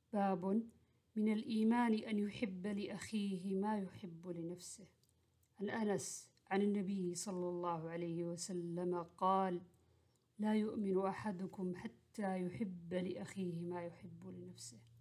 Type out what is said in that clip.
باب من الإيمان أن يحب لأخيه ما يحب لنفسه. عن أنس عن النبي صلى الله عليه وسلم قال: لا يؤمن أحدكم حتى يحب لأخيه ما يحب لنفسه.